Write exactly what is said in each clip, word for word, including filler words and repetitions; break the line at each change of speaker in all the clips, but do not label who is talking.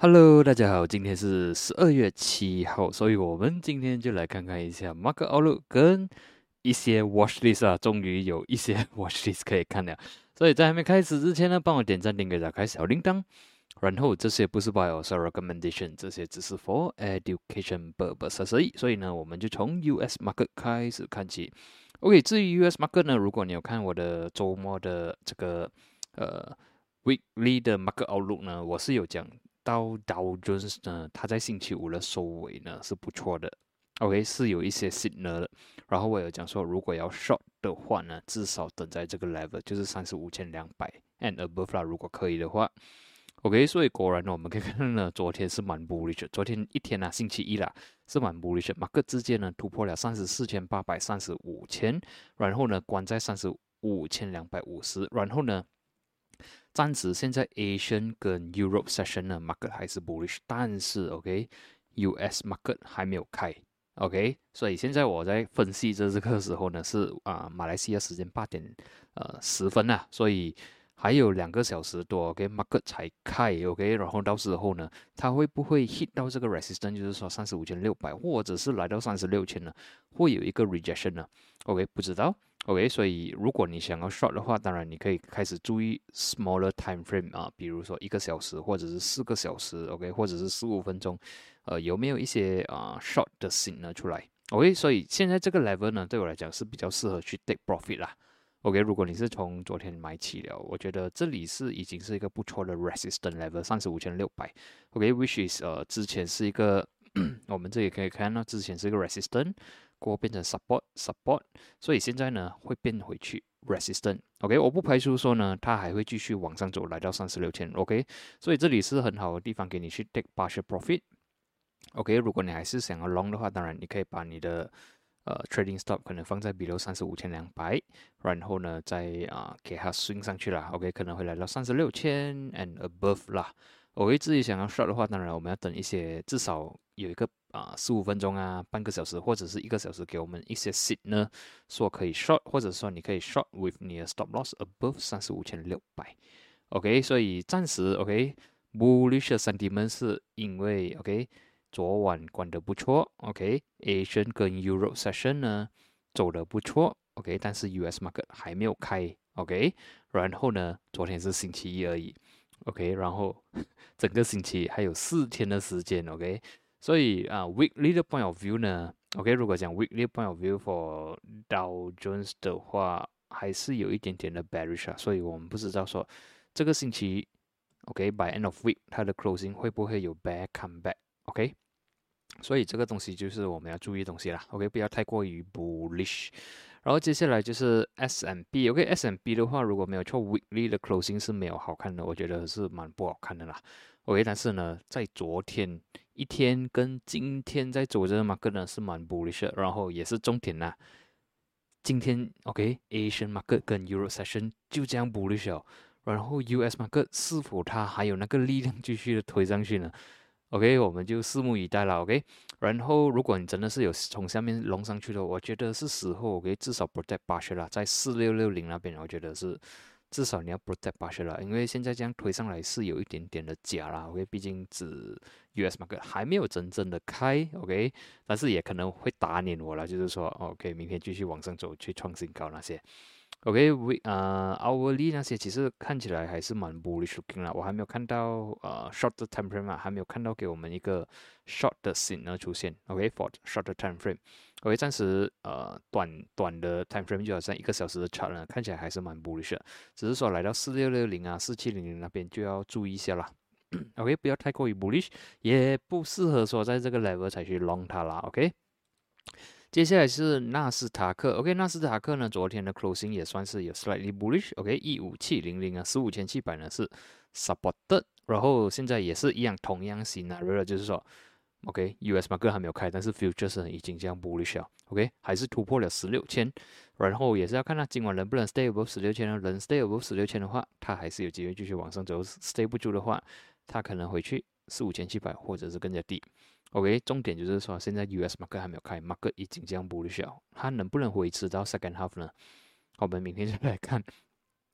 Hello，大家好，今天是十二月七号，所以我们今天就来看看一下 Market Outlook 跟一些 Watch List 啊，终于有一些 Watch List 可以看了。所以在还没开始之前呢，帮我点赞、订阅、打开小铃铛。然后这些不是 buy or sell recommendation，这些只是 for education purposes 而已。所以呢，我们就从 U S Market 开始看起。OK，至于 U S Market 呢，如果你有看我的周末的这个呃 weekly 的 Market Outlook 呢，我是有讲到 Dow Jones 呢，它在星期五的收尾呢是不错的。OK，是有一些 signal 的。然后我有讲说，如果要 short 的话呢，至少等在这个 level，就是三十五千两百 and above 啦，如果可以的话。OK，所以果然呢，我们可以看到呢，昨天是蛮 bullish 的。昨天一天啊，星期一啦，是蛮 bullish 的。马克之间呢突破了三十四千八百三十五千，然后呢关在三十五千两百五十，然后呢，暂时现在 Asian 跟 Europe session 呢，market 还是 bullish，但是 OK，U S market 还没有开。OK，所以现在我在分析这这个时候呢，是啊、马来西亚时间八点呃十分啊，所以还有两个小时多，OK，market 才开，OK，然后到时候呢，它会不会 hit 到这个 resistance，就是说三十五千六百，或者是来到三十六千呢，会有一个 rejection 呢？OK，不知道。OK，所以如果你想要 short 的话，当然你可以开始注意 smaller time frame 啊，比如说一个小时或者是四个小时，OK，或者是十五分钟，呃，有没有一些啊、short 的 s 呢出来？OK，所以现在这个 level 呢，对我来讲是比较适合去 take profit 啦。OK，如果你是从昨天买起了，我觉得这里是已经是一个不错的 resistance level，三十五千六百。OK，which is 呃之前是一个我们这里可以看到之前是一个 resistance，过后变成 support support，所以现在呢会变回去 resistant。OK，我不排除说呢它还会继续往上走，来到三十六千。OK，所以这里是很好的地方给你去 take partial profit。OK，如果你还是想要 long 的话，当然你可以把你的呃 trading stop 可能放在比如三十五千两百，然后呢再啊、呃给它 swing 上去啦。OK，可能会来到三十六千 and above 啦。我会自己想要 short 的话，当然我们要等一些，至少有一个啊十五分钟啊，半个小时或者是一个小时，给我们一些 s i t 呢，说可以 short，或者说你可以 short with 你的 stop loss above 三十五千六百。OK，所以暂时 OK bullish sentiment 是因为 OK 昨晚关得不错，OK，Asian 跟 Europe session 呢走得不错，OK，但是 U S market 还没有开，OK，然后呢，昨天是星期一而已，OK，然后整个星期还有四天的时间，OK，所以啊，weekly 的 point of view 呢，OK，如果讲 weekly point of view for Dow Jones 的话，还是有一点点的 bearish 啊，所以我们不知道说这个星期，OK，by end of week 它的 closing 会不会有 bear comeback，OK？所以这个东西就是我们要注意的东西啦，OK，不要太过于 bullish。然后接下来就是 S and P，OK，S and P 的话，如果没有错，weekly 的 closing 是没有好看的，我觉得是蛮不好看的啦。OK，但是呢，在昨天一天跟今天在走着嘛，个人是蛮 bullish 的，然后也是重点啦。今天 OK，Asian market 跟 Euro session 就这样 bullish 了，然后 U S market 是否它还有那个力量继续的推上去呢？OK，我们就拭目以待了。OK，然后如果你真的是有从下面隆上去的，我觉得是时候 OK，至少 protect 八十啦，在四六六零那边，我觉得是至少你要 protect 八十了，因为现在这样推上来是有一点点的假啦。OK，毕竟指 U S market 还没有真正的开，OK，但是也可能会打脸我了，就是说 OK，明天继续往上走去创新高那些。OK，we 呃，hourly 那些其实看起来还是蛮 bullish looking 啦，我还没有看到呃 short 的 time frame 啊，还没有看到给我们一个 short 的 signal 出现。OK，for short 的 time frame。OK，暂时呃短短的 time frame 就好像一个小时的 chart 呢，看起来还是蛮 bullish 的，只是说来到四六六零啊、四七零零那边就要注意一下啦。OK，不要太过于 bullish，也不适合说在这个 level 才去 long 它啦。OK。接下来是纳斯达克，OK，纳斯达克呢，昨天的 closing 也算是有 slightly bullish，OK，一五七零零啊，十五千七百呢是 supported，然后现在也是一样，同样 scenario，就是说，OK，U S market 还没有开，但是 futures 已经这样 bullish 了，OK，还是突破了十六千，然后也是要看它今晚能不能 stay above 十六千呢？能 stay above 十六千的话，它还是有机会继续往上走；stay 不住的话，它可能回去四五千七百或者是更加低。OK，重点就是说，现在 U S market 还没有开，market 已经这样 bullish 了，它能不能维持到 second half 呢？我们明天就来看。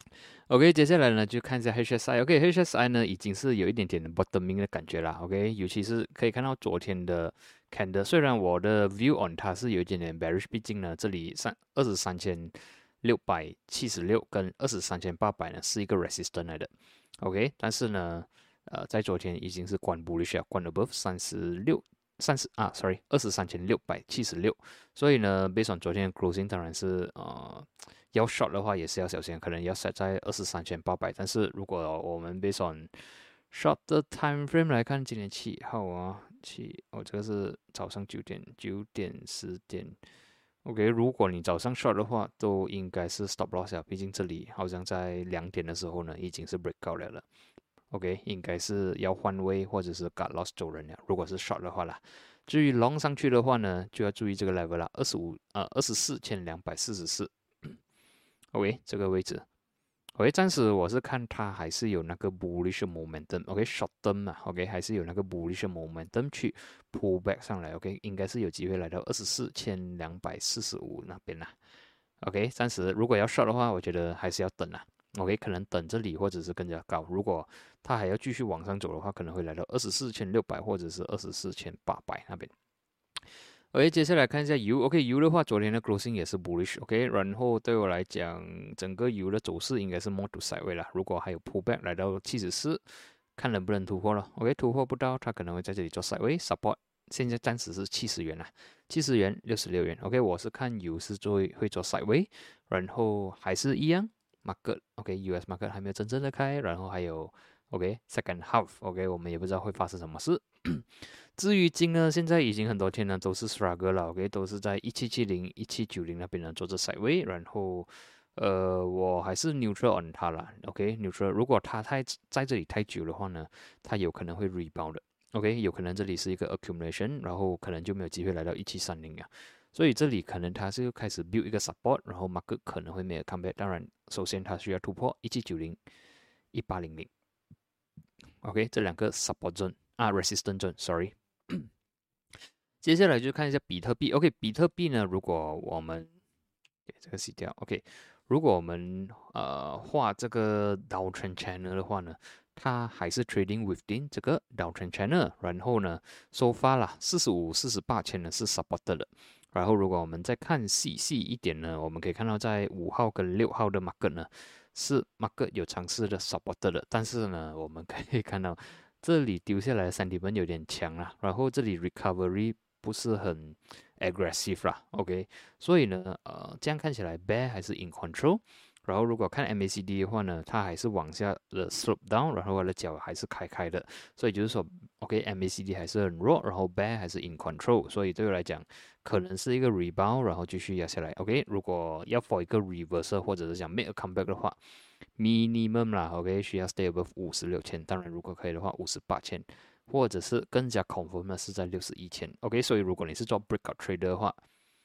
OK，接下来呢就看一下 H S I。OK，H S I 呢已经是有一点点的 bottoming 的感觉啦。OK，尤其是可以看到昨天的 candle，虽然我的 view on 它是有一点点 bearish，毕竟呢这里三二十三千六百七十六跟二十三千八百呢是一个 resistance 来的。OK，但是呢，呃，在昨天已经是关 bullish 了，关 above 三十六。三十啊，sorry，二十三千六百七十六，所以呢，based on 昨天的 closing，当然是呃要 short 的话也是要小心，可能要 set 在二十三千八百。但是如果我们 based on short 的 time frame 来看，今天七号啊，七哦，这个是早上九点、九点、十点。OK，如果你早上 short 的话，都应该是 stop loss 了，毕竟这里好像在两点的时候呢，已经是 breakout 了了。OK，应该是要换位或者是 cut loss 走人了。如果是 short 的话啦，至于 long 上去的话呢，就要注意这个 level 啦，二十五呃二十四千两百四十四。OK，这个位置。OK，暂时我是看它还是有那个 bullish momentum。OK，short term 嘛，OK 还是有那个 bullish momentum 去 pull back 上来。OK，应该是有机会来到二十四千两百四十五那边啦。OK，暂时如果要 short 的话，我觉得还是要等啦。OK，可能等这里或者是更加高。如果它还要继续往上走的话，可能会来到二十四千六百或者是二十四千八百那边。OK，接下来看一下油。OK，油的话，昨天的 closing 也是 bullish。OK，然后对我来讲，整个油的走势应该是 more to sideways 啦。如果还有 pullback 来到七十四，看能不能突破了。OK，突破不到，它可能会在这里做 sideways support。现在暂时是七十元啦，七十元、六十六元。OK，我是看油是做会做 sideways，然后还是一样 market。OK，U S market 还没有真正的开，然后还有 OK second half。OK，我们也不知道会发生什么事。至于金呢，现在已经很多天呢都是 struggle 了。OK，都是在一七七零、一七九零那边呢做着 sideways，然后呃，我还是 neutral on 它啦。OK，neutral，如果它太在这里太久的话呢，它有可能会 rebound 的。OK，有可能这里是一个 accumulation，然后可能就没有机会来到一七三零啊。所以这里可能它是开始 build 一个 support，然后 market 可能会没有 comeback。当然，首先它需要突破一七九零、一八零零。OK，这两个 support zone 啊 resistance zone，sorry。接下来就看一下比特币。OK，比特币呢，如果我们给这个洗掉。OK，如果我们呃画这个 downtrend channel 的话呢，它还是 trading within 这个 downtrend channel。然后呢，收发啦，四十五、四十八千呢是 support 的。然后如果我们再看细细一点呢，我们可以看到在五号跟六号的 market 呢，是 market 有尝试的 support 的。但是呢，我们可以看到这里丢下来的三 D 分有点强啦，然后这里 recovery 不是很 aggressive 啦。OK，所以呢，呃，这样看起来 bear 还是 in control。然后如果看 M A C D 的话呢，它还是往下的 slope down，然后它的脚还是开开的，所以就是说 OK，M A C D 还是很弱，然后 bear 还是 in control。所以对我来讲，可能是一个 rebound，然后继续压下来。OK，如果要 for 一个 reversal 或者是想 make a comeback 的话，minimum 啦 OK， 需要 stay above 五十六千。当然如果可以的话五十八千，或者是更加 confirm 的是在六十一千。OK，所以如果你是做 breakout trader 的话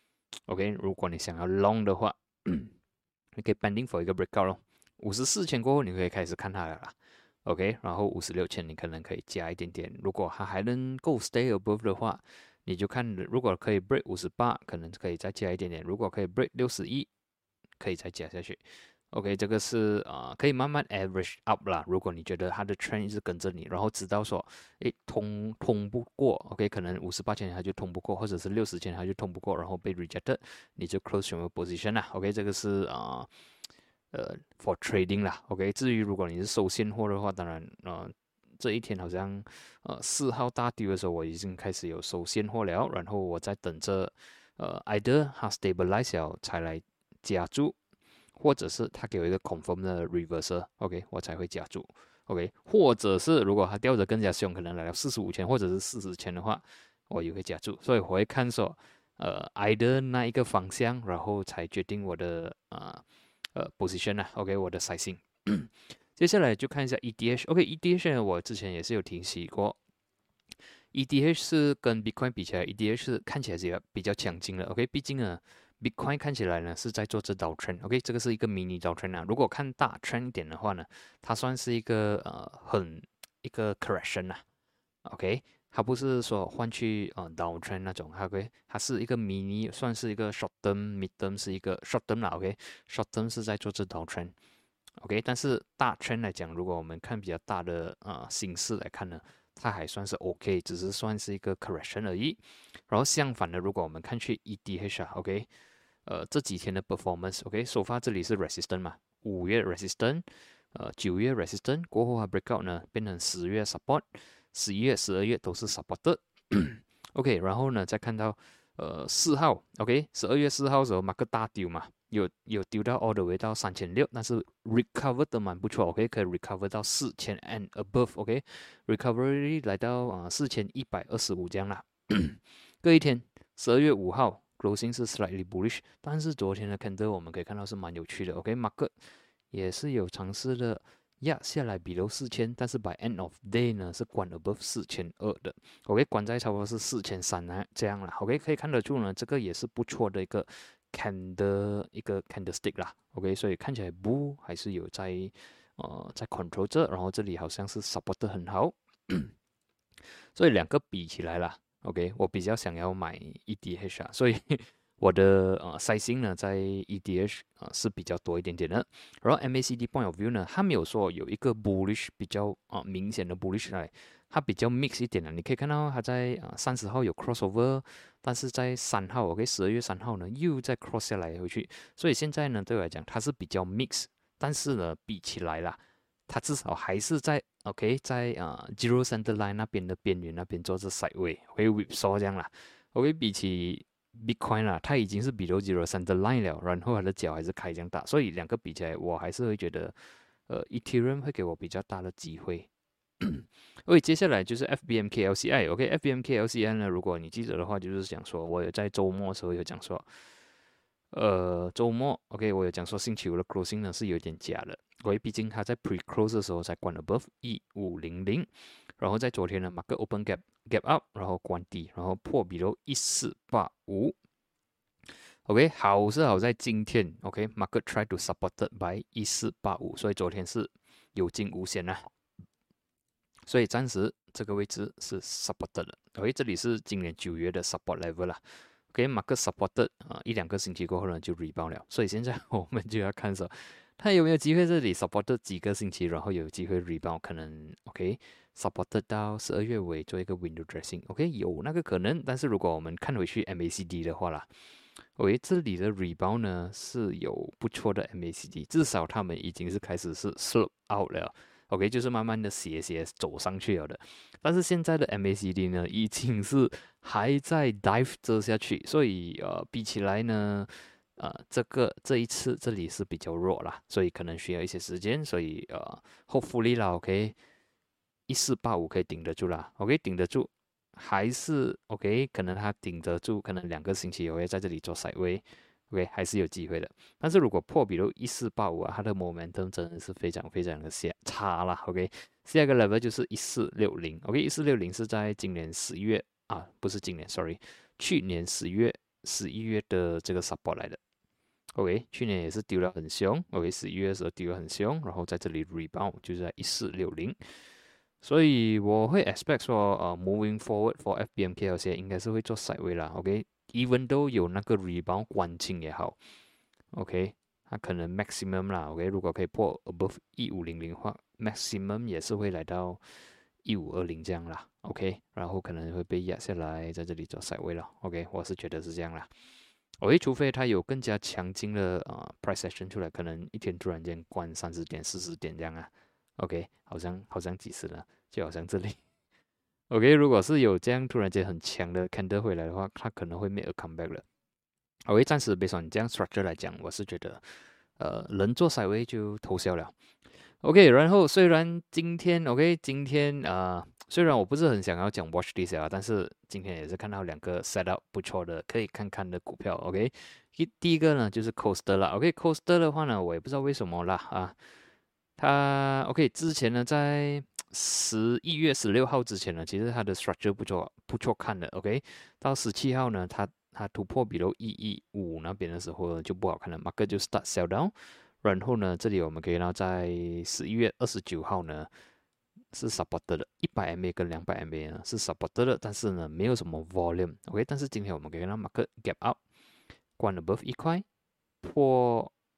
OK， 如果你想要 long 的话你可以 pending for 一个 breakout 咯。五十四千过后你可以开始看它了啦。OK， 然后五十六千你可能可以加一点点。如果它还能够 stay above 的话，你就看如果可以 break 五十八，可能可以再加一点点。如果可以 break 六十一，可以再加下去。OK，这个是啊、呃，可以慢慢 average up 啦。如果你觉得它的 trend 一直跟着你，然后知道说，诶，通通不过 ，OK， 可能五十八千它就通不过，或者是六十千它就通不过，然后被 rejected，你就 close your position 啦。OK，这个是啊、呃，呃，for trading 啦。OK，至于如果你是收现货的话，当然，呃，这一天好像呃四号大丢的时候，我已经开始有收现货了，然后我在等着呃 either 它 stabilize 了才来加注。或者是他给我一个 confirm 的 reversal，OK， 我才会加注 ，OK， 或者是如果他掉的更加凶，可能来到四十五千或者是四十千的话，我也会加注，所以我会看说，呃，either 那一个方向，然后才决定我的呃呃 position 啊，OK， 我的 sizing。接下来就看一下 E T H，OK，E T H 呢，我之前也是有提起过，E T H 是跟 Bitcoin 比起来，E T H 是看起来是比较强劲的，OK，毕竟呢。Bitcoin 看起来呢是在做这道 trend，OK， 这个是一个 mini 道 trend 啊。如果看大 trend 一点的话呢，它算是一个呃很一个 correction 啊，OK，它不是说换去呃 down trend 那种，OK，它是一个 mini，算是一个 short term，mid term 是一个 short term 啦，OK，short term 是在做这道 trend。 OK，但是大 trend 来讲，如果我们看比较大的呃形势来看呢，它还算是 OK，只是算是一个 correction 而已。然后相反的，如果我们看去 E T H 啊，OK，呃这几天的 performance，OK，so far 这里是 resistant 嘛，五月 resistant，呃九月 resistant 过后它 breakout 呢变成十月 support，十一月、十二月都是 supported。OK，然后呢再看到呃四号 ，OK，十二月四号的时候马克大丢嘛。有有丢到 all the way 到三千六，但是 recover 的蛮不错 ，OK，可以 recover 到四千 and above，OK，recovery 来到啊四千一百二十五这样啦。隔一天，十二月五号 closing 是 slightly bullish，但是昨天的 candle 我们可以看到是蛮有趣的，OK，market 也是有尝试的压下来 below 四千，但是 by end of day 呢是关 above 四千二的，OK，关在差不多是四千三啊这样啦，OK，可以看得出呢，这个也是不错的一个。candle 一个 candlestick 啦 ，OK，所以看起来 bull 还是有在呃在 control 着，然后这里好像是 support 得很好，所以两个比起来啦 ，OK，我比较想要买 E T H 啊，所以我的呃 sizing 呢在 E T H 啊、呃、是比较多一点点的，然后 M A C D point of view 呢，它没有说有一个 bullish 比较啊、呃、明显的 bullish 来。它比较 mix 一点的，你可以看到它在啊三十号有 crossover，但是在三号，OK，十二月三号呢又再 cross 下来回去，所以现在呢对我来讲它是比较 mix，但是呢比起来啦，它至少还是在 OK 在啊 zero center line 那边的边缘那边做着 sideway，OK whipsaw 这样啦，OK 比起 Bitcoin 啦，它已经是 below zero center line 了，然后它的脚还是开这样大，所以两个比起来，我还是会觉得呃 Ethereum 会给我比较大的机会。OK，接下来就是 F B M K L C I。OK，F B M K L C I 呢，如果你记得的话，就是讲说，我有在周末的时候有讲说，呃，周末 OK，我有讲说星期五的 closing 呢是有点假的，因为毕竟它在 pre close 的时候才关 above 一五零零，然后在昨天呢，market open gap gap up，然后关低，然后破 below 一四八五。OK，好是好在今天 OK，market try to supported by 一四八五，所以昨天是有惊无险啊。所以暂时这个位置是 supported 的。OK，这里是今年九月的 support level 啦。OK，market supported 啊、呃，一两个星期过后呢就 rebound 了。所以现在我们就要看说，它有没有机会这里 supported 几个星期，然后有机会 rebound，可能 OK supported 到十二月尾做一个 window dressing。OK，有那个可能，但是如果我们看回去 M A C D 的话啦。OK，这里的 rebound 呢是有不错的 M A C D，至少他们已经是开始是 slope out 了。OK，就是慢慢的斜斜走上去了的，但是现在的 M A C D 呢，已经是还在 dive 这下去，所以呃，比起来呢，呃，这个这一次这里是比较弱啦，所以可能需要一些时间，所以呃，hopefully 啦 ，OK， 一四八五可以顶得住啦 ，OK， 顶得住，还是 OK， 可能它顶得住，可能两个星期我会在这里做 sideway。OK， 还是有机会的。但是如果破比如一四八五啊，它的 momentum 真的是非常非常的下差啦。OK， 下一个 level 就是一四六零。OK， 一四六零是在今年十月啊，不是今年 ，sorry， 去年十月、十一月的这个 support 来的。OK， 去年也是丢了很凶。OK， 十一月的时候丢了很凶，然后在这里 rebound 就是在一四六零。所以我会 expect 说，呃，moving forward for F B M K L C 应该是会做 sideway 啦。OK。even 都有那个 rebound 关清也好 ，OK， 它可能 maximum 啦 ，OK， 如果可以破 above 一五零零的话 ，maximum 也是会来到一五二零这样啦 ，OK， 然后可能会被压下来，在这里做 sideway 了 ，OK， 我是觉得是这样啦，OK， 除非它有更加强劲的啊、呃、price action 出来，可能一天突然间关三十点、四十点这样啊，OK， 好像好像几十了，就好像这里。OK， 如果是有这样突然间很强的 candle 回来的话，它可能会 make a comeback 了。OK， 暂时 based on 这样 structure 来讲，我是觉得，呃，能做 sideway 就偷笑了。OK， 然后虽然今天 OK， 今天啊、呃，虽然我不是很想要讲 watch this 啊，但是今天也是看到两个 set up 不错的，可以看看的股票。OK，第第一个呢就是 Coaster 啦。OK，Coaster 的话呢，我也不知道为什么啦啊，它 OK 之前呢在十一月十六号之前呢，其实它的 structure 不错，不错看的。OK，到十七号呢，它它突破比如一一五那边的时候就不好看了，market 就 start sell down。然后呢，这里我们可以看到在十一月二十九号呢是 supported 的，一百 M A 跟两百 M A 呢是 supported 的，但是呢没有什么 volume。OK，但是今天我们可以看到 market gap up，关 above 一块，破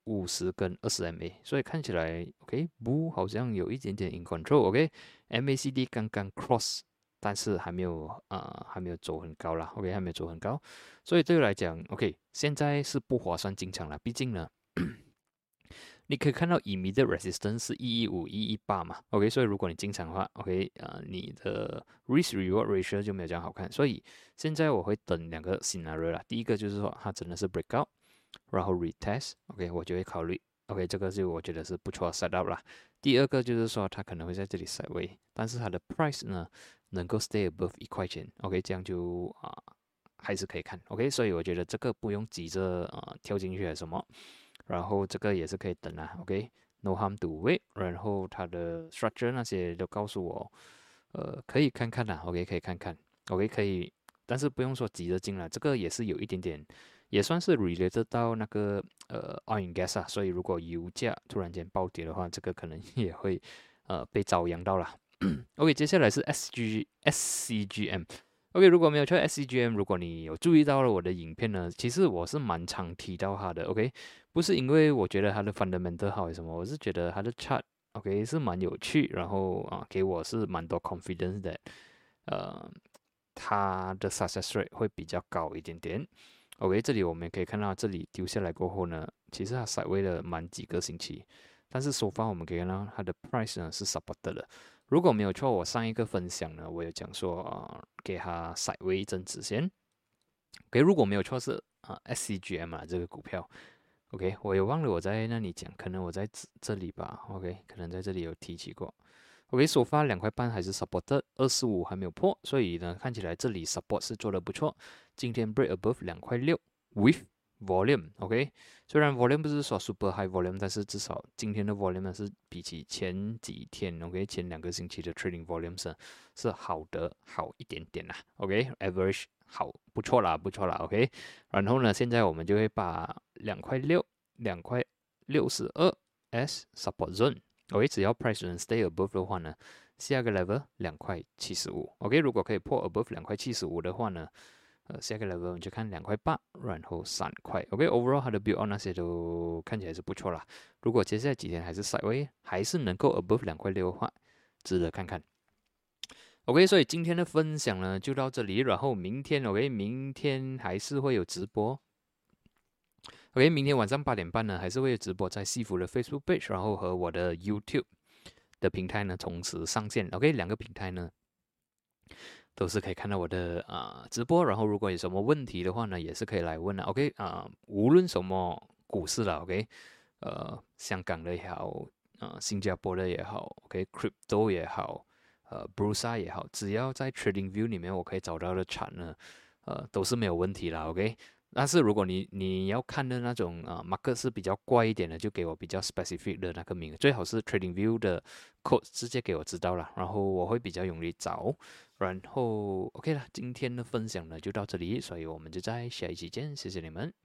五十跟二十 M A， 所以看起来 OK， 不好像有一点点 in control，OK，M A C D 刚刚 cross， 但是还没有呃还没有走很高啦 ，OK， 还没有走很高，所以对我来讲 OK， 现在是不划算进场了，毕竟呢。你可以看到 immediate resistance 是一一五、一一八嘛，OK，所以如果你进场的话，OK，呃，你的 risk reward ratio 就没有这样好看，所以现在我会等两个 scenario 啦，第一个就是说它真的是 breakout，然后 retest，OK，我就会考虑 OK，这个就我觉得是不错的 setup 啦。第二个就是说它可能会在这里 sideway，但是它的 price 呢能够 stay above 一块钱，OK，这样就啊、呃、还是可以看，OK，所以我觉得这个不用急着呃跳进去还是什么。然后这个也是可以等啊，OK，no harm to wait。然后它的 structure 那些都告诉我，呃，可以看看啦，OK，可以看看，OK，可以，但是不用说急着进来，这个也是有一点点，也算是 related 到那个呃 oil and gas 啊，所以如果油价突然间暴跌的话，这个可能也会呃被遭殃到啦。OK，接下来是 S G S C G M。OK，如果没有错 S C G M，如果你有注意到了我的影片呢，其实我是蛮常提到它的。OK，不是因为我觉得它的 fundamental 好什么，我是觉得它的 chart OK 是蛮有趣，然后啊给我是蛮多 confidence 的，呃，它的 success rate 会比较高一点点。OK，这里我们可以看到，这里丢下来过后呢，其实它 s i 了蛮几个星期，但是首发我们可以看到它的 price 呢是 support 的。如果没有错，我上一个分享呢，我有讲说啊、呃，给它 s i 一阵子先。OK，如果没有错是啊、呃、S C G M 啊这个股票。OK，我也忘了我在那里讲，可能我在这这里吧。OK，可能在这里有提起过。OK，首发两块半还是 support 二十五还没有破，所以呢，看起来这里 support 是做的不错。今天 break above 两块六 with volume。OK，虽然 volume 不是说 super high volume，但是至少今天的 volume 呢是比起前几天 OK 前两个星期的 trading volume 是是好的好一点点啦。OK，average、okay? 好不错啦不错啦。OK，然后呢，现在我们就会把两块六、两块六十二 S support zone。OK， 只要 price 能 stay above 的话呢，下个 level 两块七十五。OK，如果可以破 above 两块七十五的话呢，呃，下个 level 我们就看两块八，然后三块。OK，overall、okay? 它的 build on 那些都看起来是不错啦。如果接下来几天还是 sideway， 还是能够 above 两块六的话，值得看看。OK，所以今天的分享呢就到这里，然后明天 OK， 明天还是会有直播。OK， 明天晚上八点半呢还是会有直播在西服的 Facebook page， 然后和我的 YouTube 的平台呢同时上线。OK， 两个平台呢都是可以看到我的啊、呃、直播，然后如果有什么问题的话呢，也是可以来问的。OK 啊、呃，无论什么股市了 ，OK， 呃，香港的也好，呃，新加坡的也好 ，OK，Crypto、okay? 也好。呃 b r u s a 也好，只要在 Trading View 里面我可以找到的产呢，呃，都是没有问题啦 OK， 但是如果你你要看的那种啊、呃、market 是比较怪一点的，就给我比较 specific 的那个名，最好是 Trading View 的 code 直接给我知道了，然后我会比较容易找。然后 OK 了，今天的分享呢就到这里，所以我们就在下一期见，谢谢你们。